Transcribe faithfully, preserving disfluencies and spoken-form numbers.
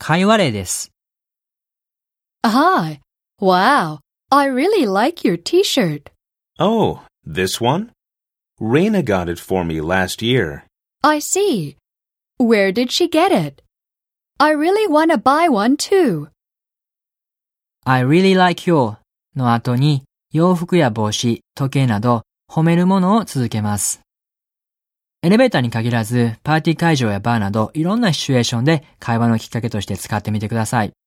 会話例です。 Hi. Wow. I really like your t-shirt. Oh, this one? Raina got it for me last year. I see. Where did she get it? I really want to buy one too. I really like your の後に洋服や帽子、時計など褒めるものを続けます。エレベーターに限らずパーティー会場やバーなどいろんなシチュエーションで会話のきっかけとして使ってみてください。